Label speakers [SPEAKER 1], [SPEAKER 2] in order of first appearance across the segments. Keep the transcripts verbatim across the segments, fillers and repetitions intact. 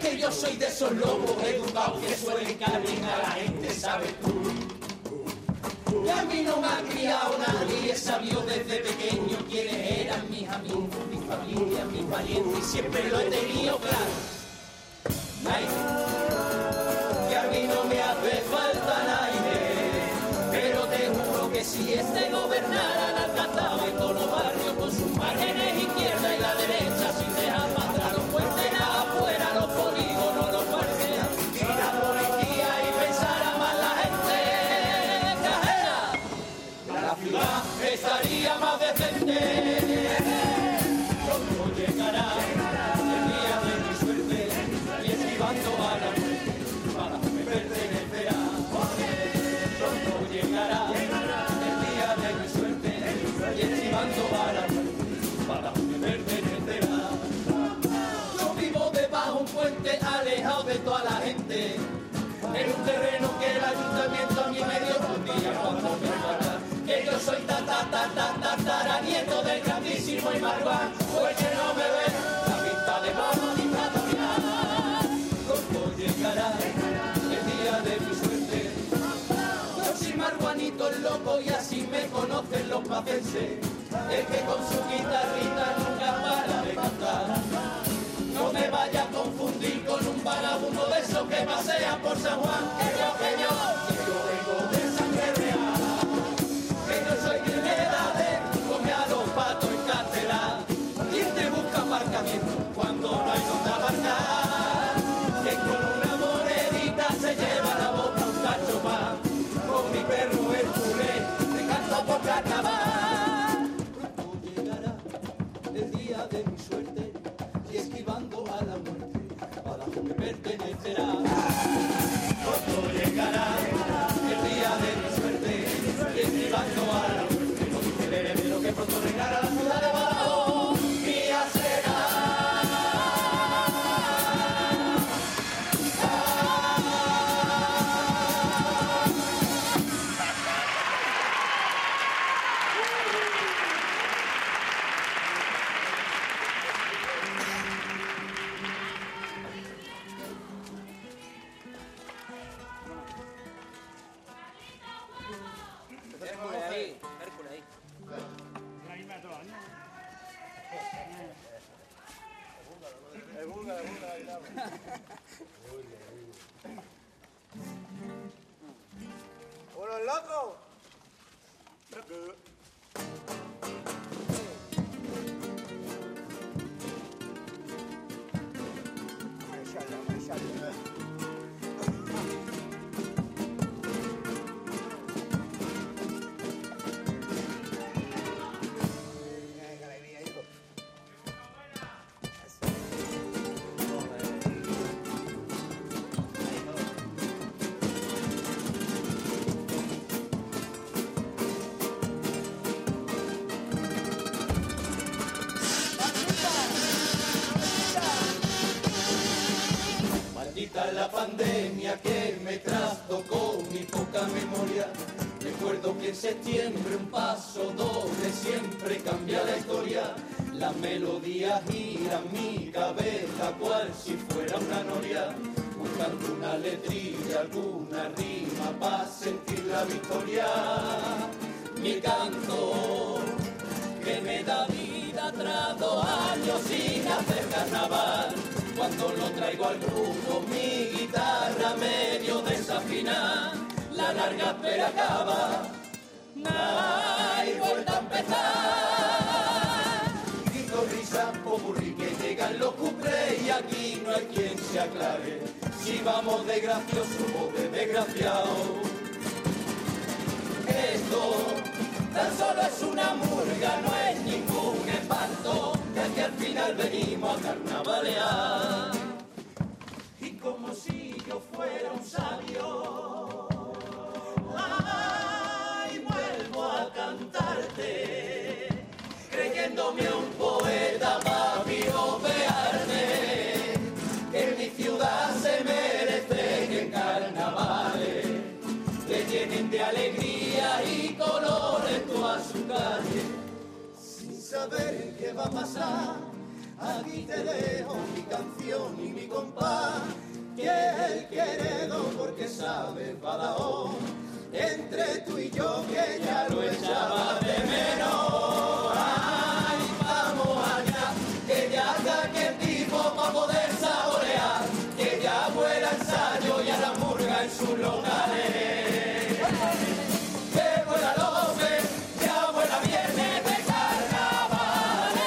[SPEAKER 1] que yo soy de esos lobos educados que suelen cargar a la gente, ¿sabes tú? Y a mí no me ha criado nadie, sabió desde pequeño quiénes eran mis amigos, mi familia, mis parientes, y siempre lo he tenido claro. Nadie, que a mí no me hace falta nadie, pero te juro que si este gobernara la alcanzaba en todos los barrios con sus márgenes izquierda y la derecha, sin dejar más atrás los puentes nada afuera, los polígonos, los parques, y la policía y pensara más la gente cajera, la ciudad estaría más decente. Pronto llegará el día de mi suerte y esquivando a la muerte para que me pertenecerá. Pronto llegará el día de mi suerte y esquivando a la muerte para que me pertenecerá. Yo vivo debajo un puente alejado de toda la gente, en un terreno que el ayuntamiento a mí me dio un día cuando me mata. Que yo soy ta ta ta ta ta tataranieto del grandísimo Imarguán, pues que no me ve la vista de mano dictatorial. Pronto llegará el día de mi suerte. Yo soy marguanito el loco y así me conocen los pacenses, el que con su guitarrita nunca para de cantar. No me vaya a confundir con un vagabundo de esos que pasea por San Juan, que yo, que yo, que yo vengo de sangre real, que yo soy de edades, come a los patos en cátedra. ¿Quién te busca aparcamiento cuando no hay donde aparcar? Que con una monedita se lleva la boca un cacho más, con mi perro el puré, te canto por carnaval. Pronto llegará el día de mi suerte y esquivando a la muerte para que me pertenecerá. Pronto llegará el día de mi suerte y esquivando a la muerte no sucederé de lo que pronto regará la ciudad de Badajoz, mía será.
[SPEAKER 2] Hércules ahí, Hércules ahí.
[SPEAKER 3] El búlgaro, el búlgaro, el búlgaro. ¡Unos locos! Marshalla, marshalla.
[SPEAKER 1] Maldita la pandemia que me trastocó mi poca memoria. Recuerdo que en septiembre un paso doble siempre cambia la historia. La melodía gira en mi cabeza cual si fuera una noria, buscando una letrilla, alguna rima para sentir la victoria. Mi canto que me da vida tras dos años sin hacer carnaval. Cuando lo traigo al grupo, mi guitarra medio desafina, la larga espera acaba, hay vuelta a empezar. Grito, risa, popurrí, que llegan los cuplés y aquí no hay quien se aclare si vamos de gracioso o de desgraciado. Esto tan solo es una murga, no es ningún espanto, ya que al final venimos a carnavalear. Y como si yo fuera un sabio, ay, vuelvo a cantarte, creyéndome un poeta para piropearte, que en mi ciudad se merece que en carnavales le llenen de alegría y colores toda su calle, sin saber qué va a pasar
[SPEAKER 4] aquí te dejo mi canción y mi compás, que es el queredo porque sabes Badajoz, entre tú y yo que ya lo echaba de menos. Ay, vamos allá, que ya saque el tipo para poder saborear, que ya vuela ensayo y a la murga en sus locales. Que vuela López, ya vuela viernes de carnavales.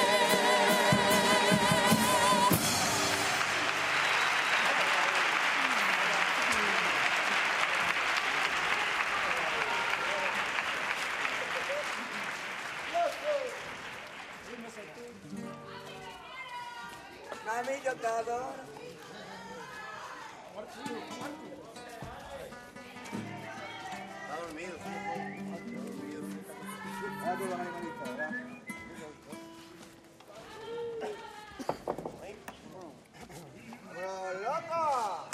[SPEAKER 3] Mami, yo te adoro.
[SPEAKER 4] Está dormido, sí. Está dormido, sí.
[SPEAKER 3] Ah, tú vas a ir, ¿verdad? ¡Bro, loco!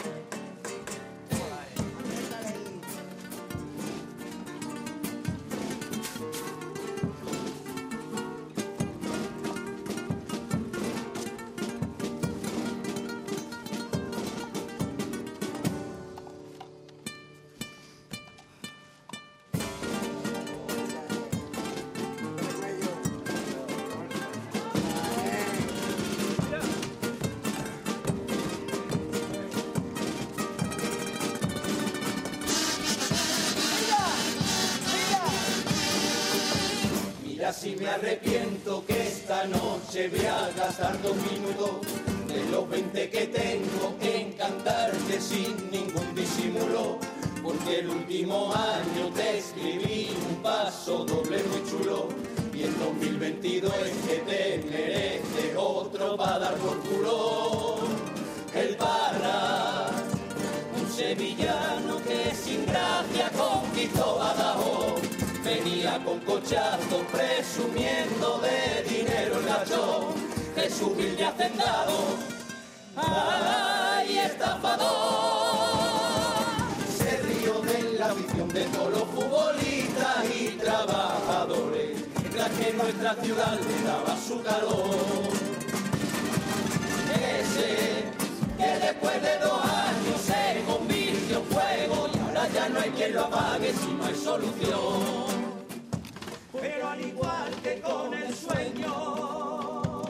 [SPEAKER 4] Mira si me arrepiento que esta noche voy a gastar dos minutos de los veinte que tengo en cantarte sin ningún disimulo, porque el último año te escribí un paso doble muy chulo y en dos mil veintidós es que te mereces otro para dar por culo. El Parra, un sevillano que sin gracia conquistó Badajoz, venía con cochazo presumiendo de dinero el gacho, Jesús humilde hacendado, ay, estafador. Se rió de la visión de todos los futbolistas y trabajadores, mientras que nuestra ciudad le daba su calor. Ese que después de dos años se convirtió en fuego y ahora ya no hay quien lo apague si no hay solución. Pero al igual que con el sueño,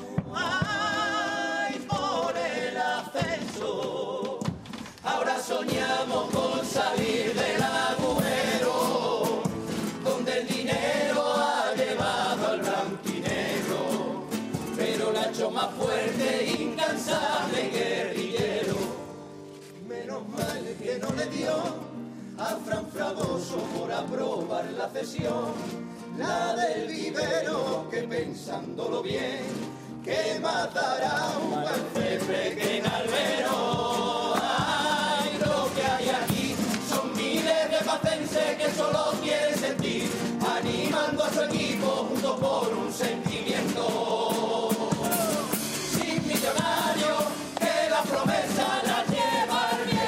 [SPEAKER 4] ay, por el ascenso, ahora soñamos con salir del agujero, donde el dinero ha llevado al blanquinegro, pero la ha hecho más fuerte, incansable, guerrillero. Menos mal que no le dio a Fran Fragoso por aprobar la cesión, la del vivero, que pensándolo bien, que matará un buen Pepe que en albero. Ay, lo que hay aquí son miles de pacenses que solo quieren sentir, animando a su equipo juntos por un sentimiento. Sin millonarios, que la promesa la lleva el viento.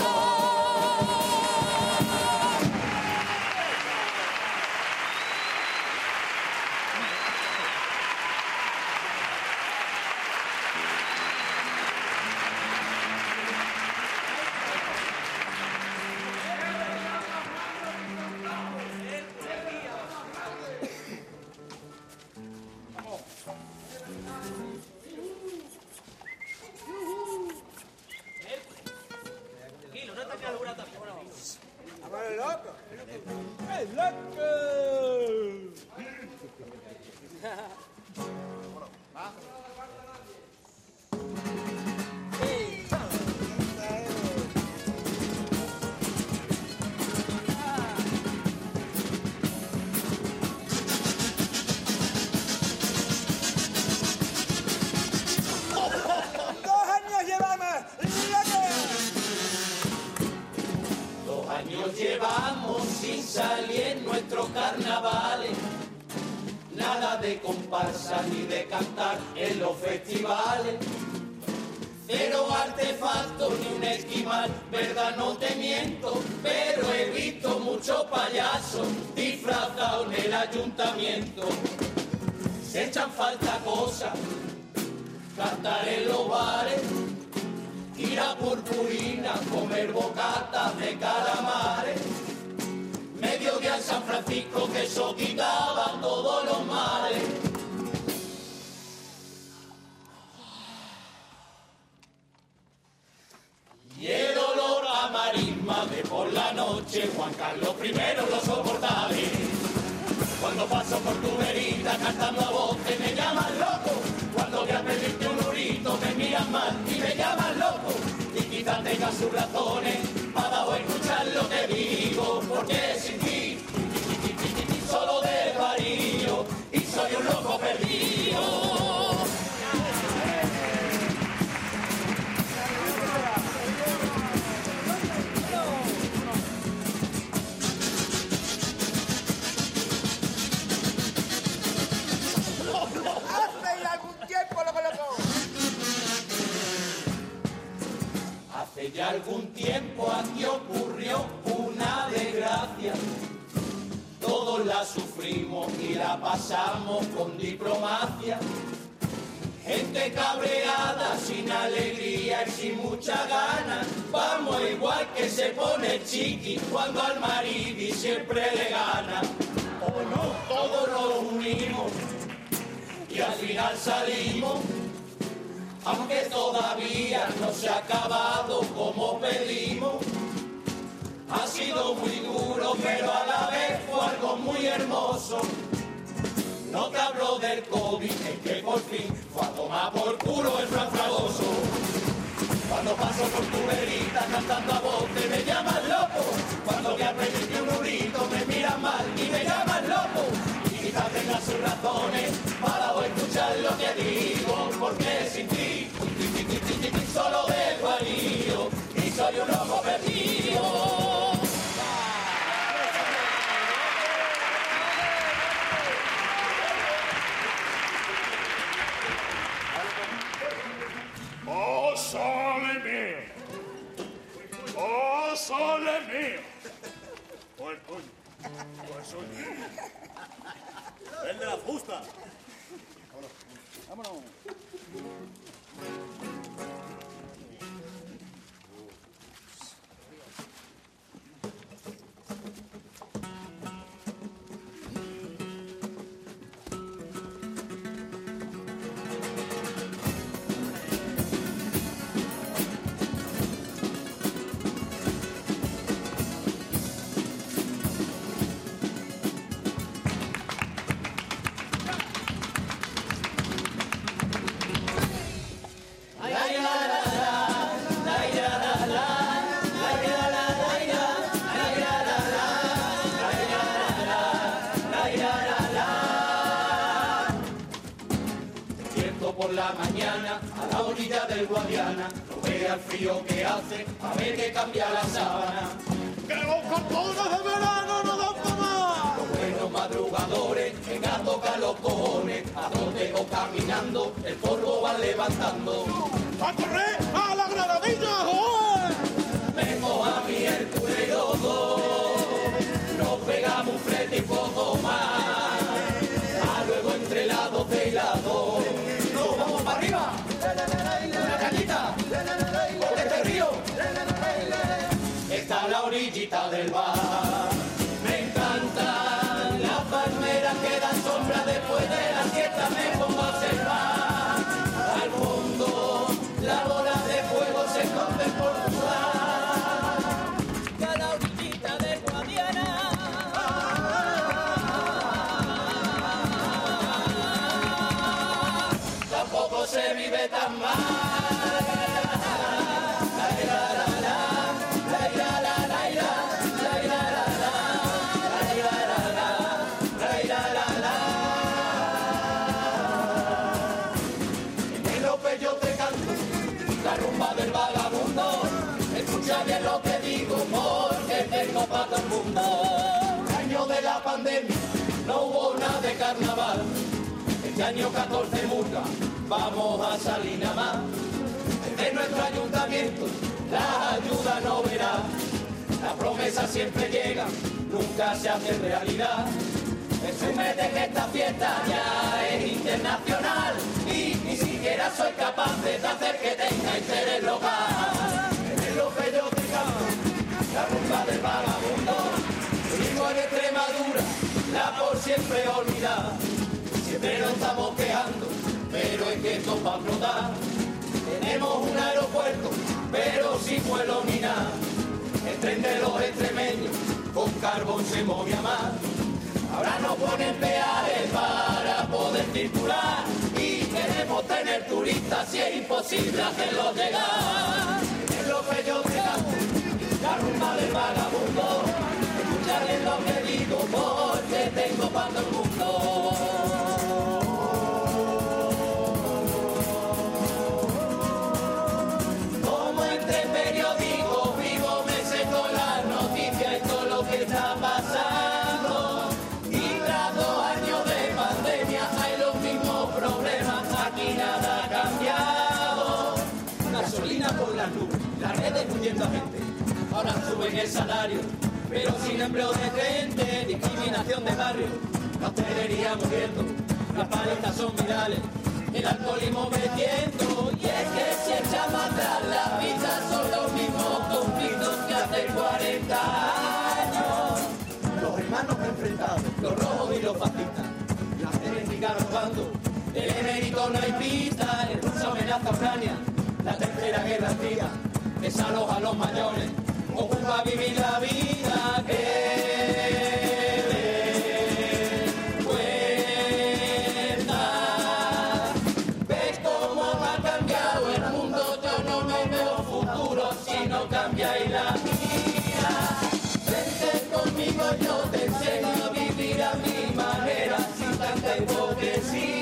[SPEAKER 3] ¡Bro, loco!
[SPEAKER 2] ¡El loco!
[SPEAKER 3] ¡Dos años llevamos!
[SPEAKER 4] Dos años llevamos sin salir en nuestros carnavales, nada de comparsa ni de cantar en los festivales. Cero artefactos ni un esquimal, verdad no te miento, pero he visto muchos payasos disfrazados en el ayuntamiento. Se echan falta cosas cantar en los bares, ir a Purpurina, comer bocatas de calamares, mediodía en San Francisco que eso quitaba todos los males. Y el olor a marisma de por la noche, Juan Carlos primero lo soportaré. Cuando paso por tu verita cantando a voz que me llaman loco, cuando voy a pedirte un urito me miran mal y me llaman loco. Y quizás tenga sus razones para o escuchar lo que digo, porque sin ti solo desvarío y soy un loco perdido. Hace ya algún tiempo aquí ocurrió una desgracia, todos la sufrimos y la pasamos con diplomacia. Gente cabreada, sin alegría y sin mucha gana, vamos igual que se pone chiqui cuando al marido siempre le gana. O no, todos nos unimos y al final salimos, aunque todavía no se ha acabado como pedimos. Ha sido muy duro, pero a la vez fue algo muy hermoso. No te hablo del COVID, es que por fin fue a tomar por culo el Fran Fragoso. Cuando paso por tu verita cantando a voz te me llaman loco. Cuando voy a pedirte un urito me miran mal y me llaman loco. Y quizás tengas sus razones para o escuchar lo que digo, porque sin ti solo desvarío y soy un loco perdido.
[SPEAKER 5] ¡Oh, sole mío! ¡Oh, sole mío! ¡Oh, el coño! ¡Oh, el suyo! ¡El de la fusta!
[SPEAKER 3] Vámonos.
[SPEAKER 4] Por la mañana a la orilla del Guadiana, no vea el frío que hace, a ver que cambia la sábana.
[SPEAKER 5] ¡Que los cartones de verano no dan para más!
[SPEAKER 4] Los buenos madrugadores vengan a tocar los cojones, a donde o caminando el polvo van levantando.
[SPEAKER 5] ¡A correr a la granadilla, joder!
[SPEAKER 4] Vengo a mi el culerodo, nos pegamos un frente y poco más, a luego entre las doce y las dos. ¡Vamos para arriba! ¡Una cañita! ¡Por este río! Está la orillita del bar. Me encantan las palmeras que dan sombra después de la siesta. Me pongo a observar al fondo las bolas de fuego se esconden por tu lado. Está la orillita del Guadiana. Tampoco se vive tan mal. En el López yo te canto la rumba del vagabundo. Escucha bien lo que digo porque tengo para todo el mundo. El año de la pandemia no hubo nada de carnaval. Este año catorce murga, vamos a salir nada más. Desde nuestro ayuntamiento la ayuda no verá. La promesa siempre llega, nunca se hace realidad. Presume de que esta fiesta ya es internacional y ni siquiera siquiera soy capaz de hacer que tenga interés local. Es lo que yo te canto, la rumba del vagabundo. Vivo en Extremadura, la por siempre olvidada. Siempre nos estamos quejando, pero es que esto va a explotar. Tenemos un aeropuerto, pero sin vuelo ni nada. El tren de los extremeños con carbón se movía más. Ahora nos ponen peajes para poder circular y queremos tener turistas si es imposible hacerlos llegar. Es lo que yo te canto, la rumba del vagabundo. Escucha bien lo que digo porque tengo para todo el mundo. Como entre periódicos vivo me sé con las noticias y todo lo que está pasando. Y tras dos años de pandemia hay los mismos problemas, aquí nada ha cambiado. Gasolina por las nubes, las redes huyendo a gente. Ahora suben el salario, pero sin empleo de gente, discriminación de barrio, la hostelería muriendo, las paletas son virales, el alcoholismo metiendo, y es que si echamos atrás las vistas son los mismos conflictos que hace cuarenta años. Los hermanos enfrentados, los rojos y los fascistas, las genéticas robando, del emérito no hay pista, el ruso amenaza a Ucrania, la tercera guerra fría, desaloja a los mayores, ocupa vivir la vida que le cuesta. ¿Ves cómo ha cambiado el mundo? Yo no me veo futuro si no cambiáis la mía. Vente conmigo, yo te enseño a vivir a mi manera sin tanta hipocresía.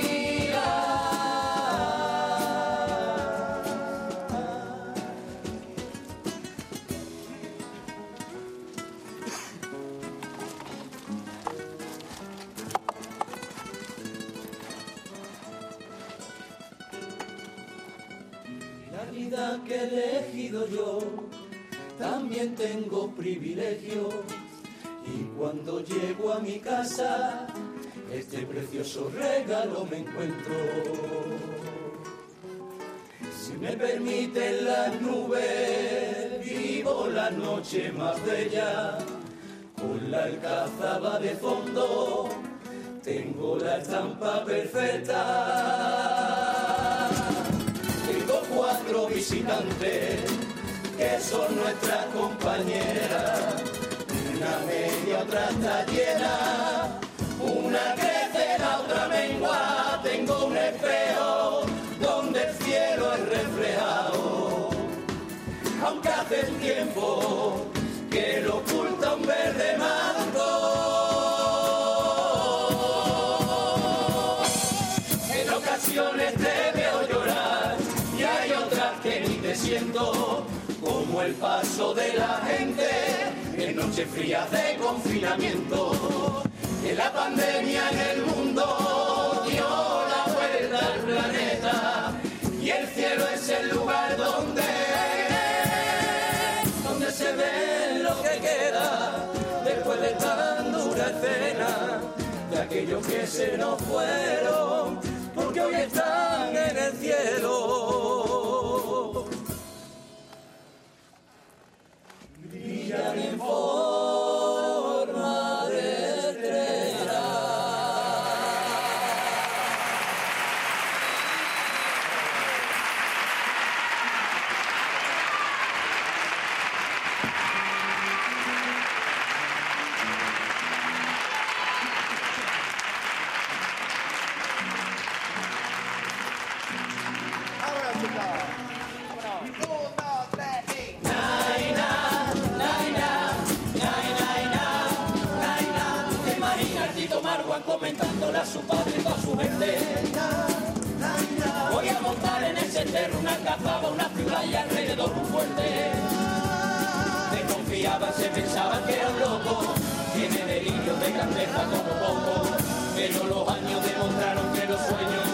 [SPEAKER 4] La vida que he elegido yo, también tengo privilegios. Y cuando llego a mi casa, este precioso regalo me encuentro. Si me permiten las nubes, vivo la noche más bella. Con la alcazaba de fondo, tengo la estampa perfecta. Tengo cuatro visitantes que son nuestras compañeras. Una media, otra está llena, una crece, la otra mengua. Tengo un espejo donde el cielo es reflejado, aunque hace tiempo que lo oculta un verde manto. En ocasiones te veo llorar y hay otras que ni te siento, como el paso de la gente en noches frías de confinamiento. Que la pandemia en el mundo dio la vuelta al planeta y el cielo es el lugar donde, donde se ve lo que queda después de tan dura escena de aquellos que se nos fueron, porque hoy están en el cielo. Brillan en forma de estrella.
[SPEAKER 3] Ahora, chicos. Uno, dos, tres y...
[SPEAKER 4] ¿Te imaginas Tito Marwan comentándole a su padre y a su gente? Voy a montar en ese cerro una cazaba, una ciudad y alrededor un fuerte. Desconfiaban, se pensaban que era un loco, tiene delirios de grandeza como poco, pero los años demostraron que los sueños